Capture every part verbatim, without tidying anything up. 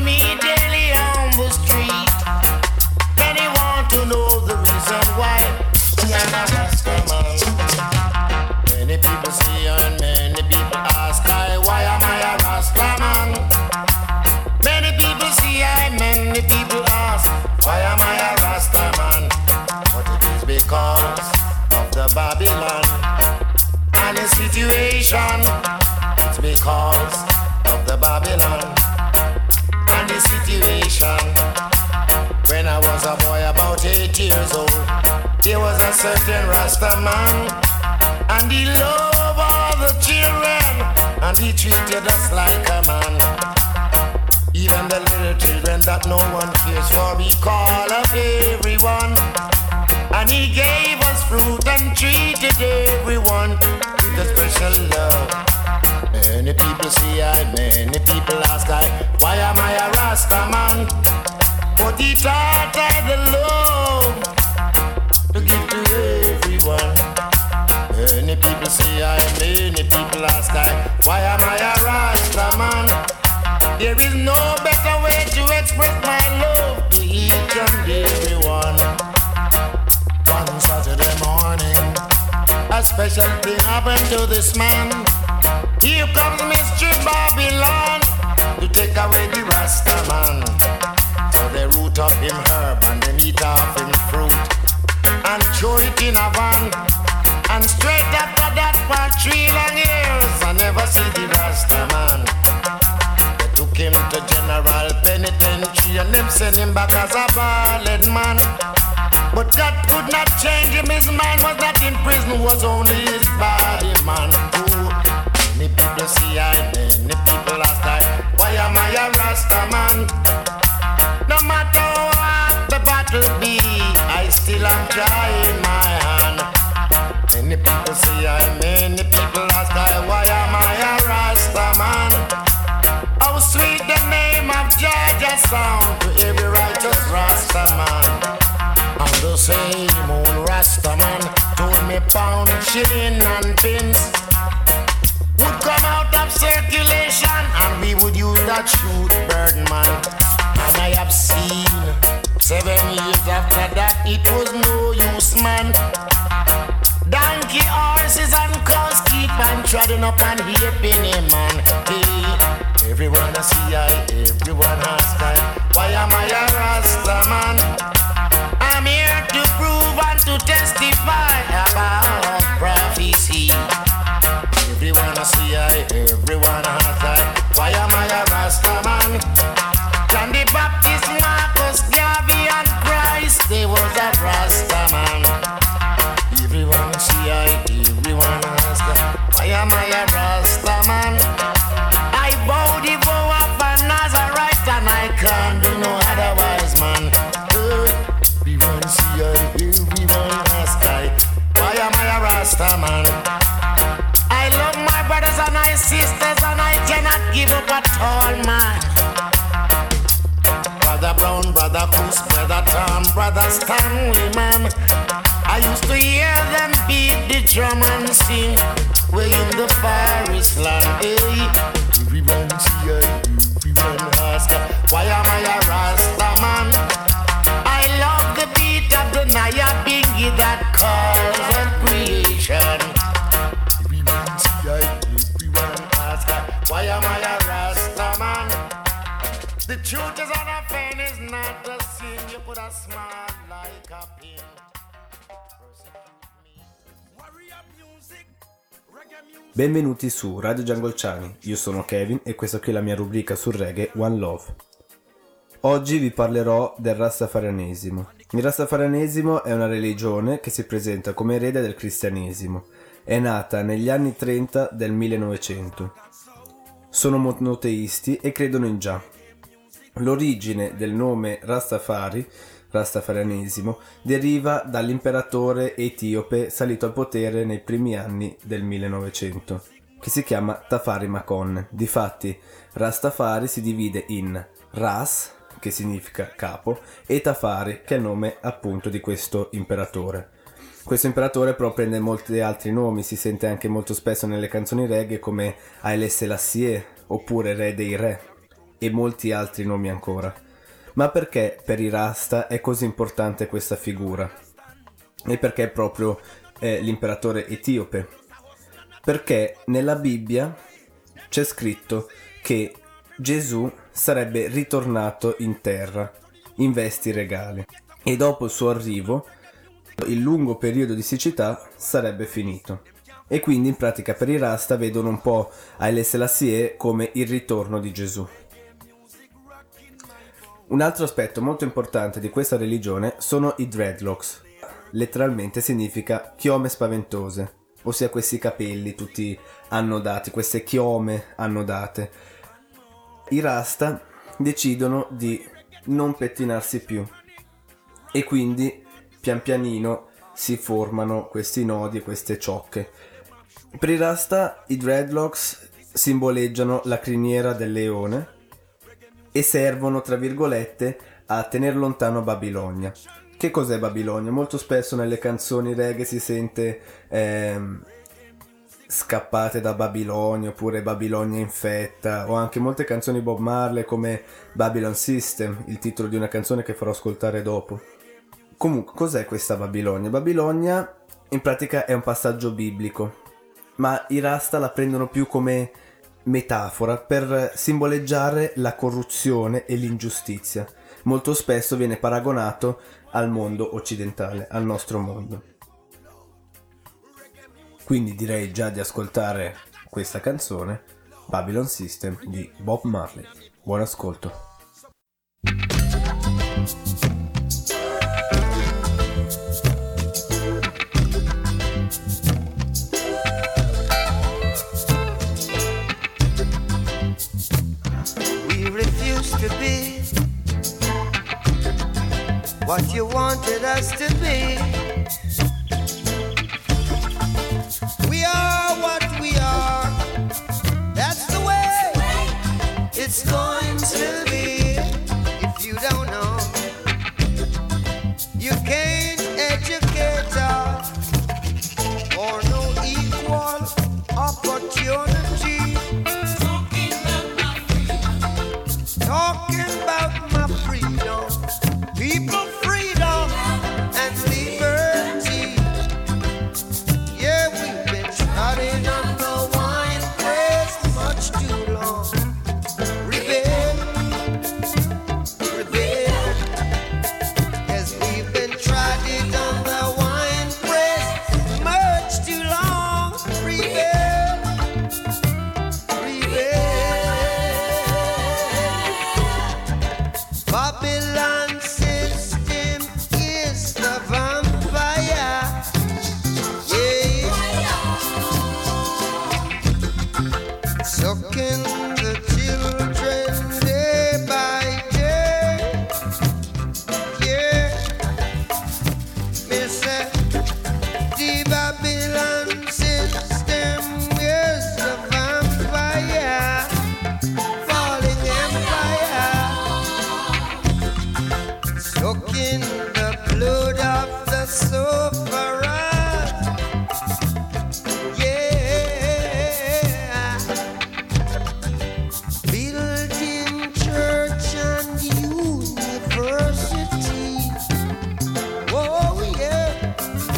me daily on the street. Many want to know the reason why I'm a Rastaman. Many people see and many people ask I, why am I a Rastaman? Many people see I, many people ask, why am I a Rastaman? But it is because of the Babylon and the situation. It's because of the Babylon and the situation. When I was a boy about eight years old, there was a certain Rasta man, and he loved all the children, and he treated us like a man. Even the little children that no one cares for, he called up everyone. And he gave us fruit and treated everyone with a special love. Many people see I, many people ask I, why am I a Rasta man? But he taught I the love to give to everyone. Many people see I, many people ask I, why am I a Rasta man? There is no better way to express my love to each and everyone. One Saturday morning, a special thing happened to this man. Here comes Mister Babylon to take away the Rasta man. So they root up him herb and they eat off him fruit and throw it in a van. And straight after that for three long years I never see the Rasta man. They took him to General Penitentiary and them sent him back as a bald man. But God could not change him, his mind was not in prison, was only his body, man. Ooh. Many people see I, many people ask I, why am I a Rasta man? No matter what the battle be, I still am trying my hand. Many people see I, many people ask I, why am I a Rasta man? How sweet the name of Georgia sound to every righteous Rasta man. And the same old Rasta man told me pound, shilling and pence would come out of circulation and we would use that shoot bird man. And I have seen seven years after that it was no use, man. Donkey, horses and cows keep on treading up and heaping him, man. Hey, everyone I see I, everyone ask I, why am I a Rasta man? I'm here to prove and to testify about prophecy. Everyone I see I, everyone ask I, why am I a Rasta man? John the Baptist, Marcus, Garvey and Christ, they was a Rasta man. Everyone see I, everyone ask I, why am I a Rasta man? I bow the vow of a Nazarite and I can't do no otherwise, man. Everyone see I, everyone ask I, why am I a Rasta man? I love my brothers and my sisters and I cannot give up at all, man. Brother Brown, Brother Coos, Brother Tom, Brother Stanley, man. I used to hear them beat the drum and sing way in the forest land, hey. Everyone see I, everyone ask I, why am I a Rasta man? I love the beat of the Naya Bingy that calls on creation. Everyone see I, everyone ask I, why am I a Rasta man? The truth is on a pen is not the sin. You put a smile like a pin. Benvenuti su Radio Giangolciani, io sono Kevin e questa qui è la mia rubrica sul reggae One Love. Oggi vi parlerò del Rastafarianesimo. Il Rastafarianesimo è una religione che si presenta come erede del cristianesimo. È nata negli anni trenta del millenovecento. Sono monoteisti e credono in Jah. L'origine del nome Rastafari, Rastafarianesimo, deriva dall'imperatore etiope salito al potere nei primi anni del millenovecento, che si chiama Tafari Makonne. Difatti, Rastafari si divide in Ras, che significa capo, e Tafari, che è il nome appunto di questo imperatore. Questo imperatore però prende molti altri nomi, si sente anche molto spesso nelle canzoni reggae come Haile Selassie oppure Re dei Re. e molti altri nomi ancora. Ma perché per i Rasta è così importante questa figura? E perché proprio eh, l'imperatore etiope? Perché nella Bibbia c'è scritto che Gesù sarebbe ritornato in terra in vesti regali e dopo il suo arrivo il lungo periodo di siccità sarebbe finito. E quindi in pratica per i Rasta vedono un po' Haile Selassie come il ritorno di Gesù. Un altro aspetto molto importante di questa religione sono i dreadlocks. Letteralmente significa chiome spaventose, ossia questi capelli tutti annodati, queste chiome annodate. I Rasta decidono di non pettinarsi più e quindi pian pianino si formano questi nodi e queste ciocche. Per i Rasta i dreadlocks simboleggiano la criniera del leone e servono, tra virgolette, a tenere lontano Babilonia. Che cos'è Babilonia? Molto spesso nelle canzoni reggae si sente ehm, scappate da Babilonia oppure Babilonia infetta, o anche molte canzoni Bob Marley come Babylon System, il titolo di una canzone che farò ascoltare dopo. Comunque, cos'è questa Babilonia? Babilonia in pratica è un passaggio biblico, ma i Rasta la prendono più come metafora per simboleggiare la corruzione e l'ingiustizia. Molto spesso viene paragonato al mondo occidentale, al nostro mondo. Quindi direi già di ascoltare questa canzone, Babylon System di Bob Marley. Buon ascolto. We refuse to be what you wanted us to be. We are what we are. That's the way it's going to be. If you don't know, you can't educate us or no equal opportunity. Talking about my freedom, people freedom and liberty. Yeah, we've been trodden on the wine press much too long. Rebel, rebel, yes, we've been trodden on the wine press much too long. Rebel, rebel. Babylon system is the vampire. Yeah. Sucking the children day by day. Yeah. Me say the Babylon system is the vampire. Falling empire. Soaking the blood of the sufferers. Yeah. Building church and university. Oh yeah.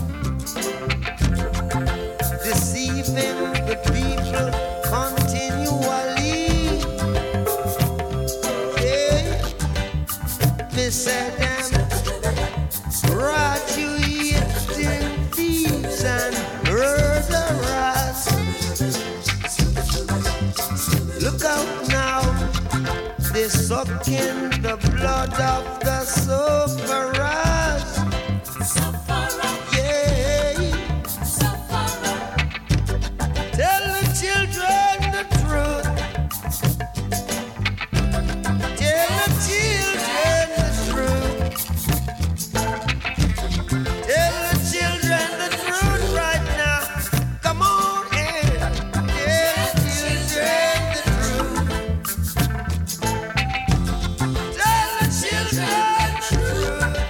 Deceiving the people continually. Yeah. Me say them graduating thieves and murderers. Look out now, they're sucking the blood of the sufferers. Yeah. Tell the children the truth. Tell the children the truth. Tell the children the truth right now. Come on in. Tell the children the truth. Tell the children the truth.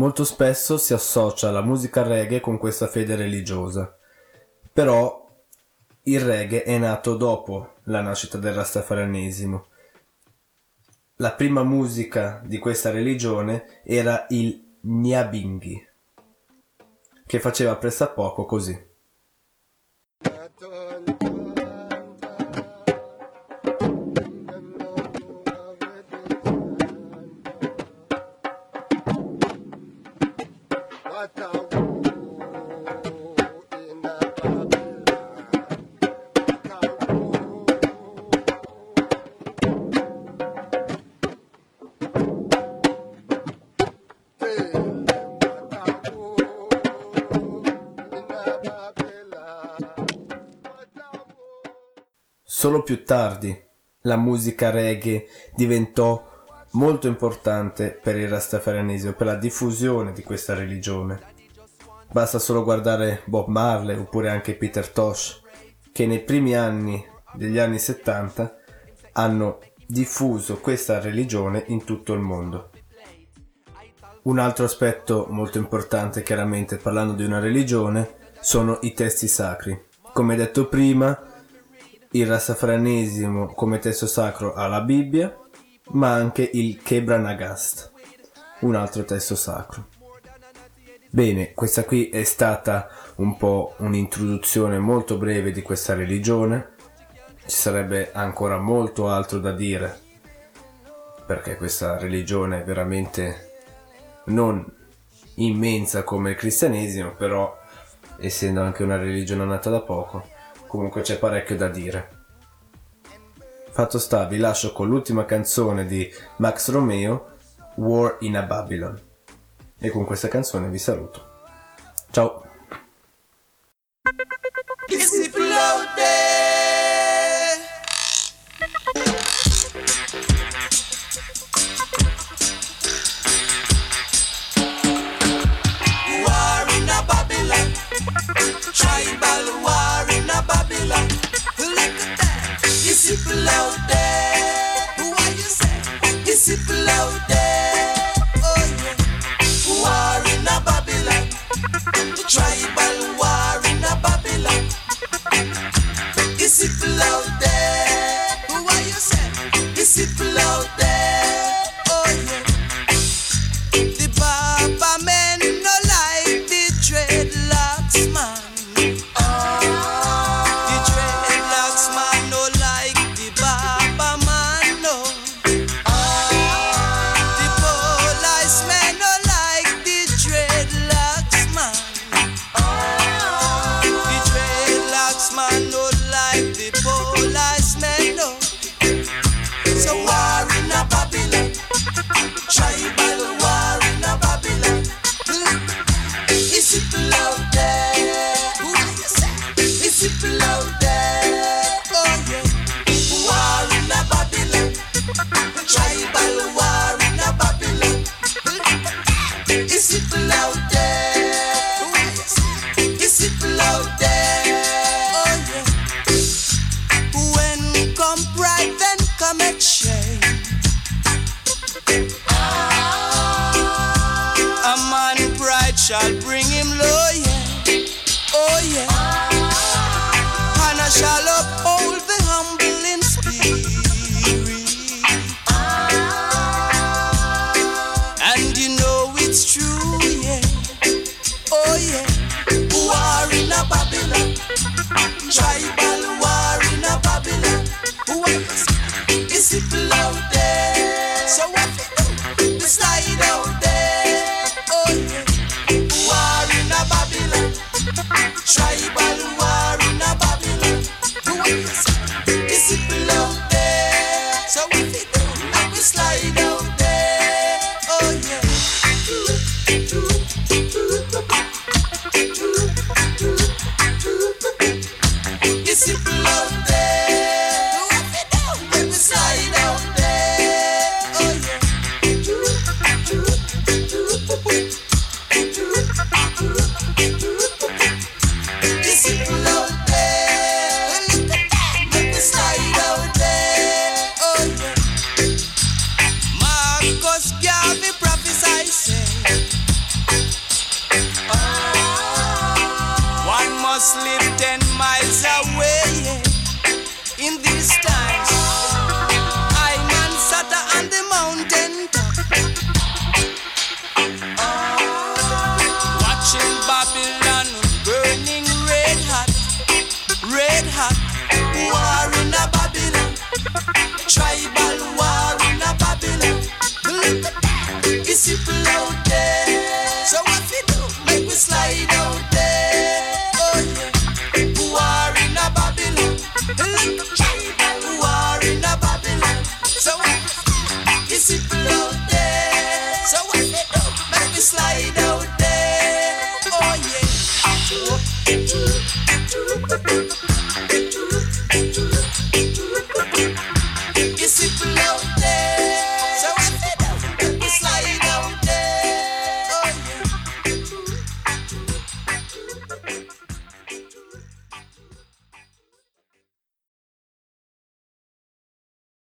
Molto spesso si associa la musica reggae con questa fede religiosa, però il reggae è nato dopo la nascita del rastafarianesimo. La prima musica di questa religione era il Nyabingi, che faceva pressappoco così. Solo più tardi la musica reggae diventò molto importante per il rastafarianesimo, per la diffusione di questa religione. Basta solo guardare Bob Marley oppure anche Peter Tosh, che nei primi anni degli anni settanta hanno diffuso questa religione in tutto il mondo. Un altro aspetto molto importante, chiaramente parlando di una religione, sono i testi sacri. Come detto prima, il rastafarianesimo come testo sacro ha la Bibbia, ma anche il Kebra Nagast, un altro testo sacro. Bene, questa qui è stata un po' un'introduzione molto breve di questa religione. Ci sarebbe ancora molto altro da dire, perché questa religione è veramente non immensa come il cristianesimo, però essendo anche una religione nata da poco, comunque c'è parecchio da dire. Fatto sta, vi lascio con l'ultima canzone di Max Romeo, War in a Babylon. E con questa canzone vi saluto. Ciao!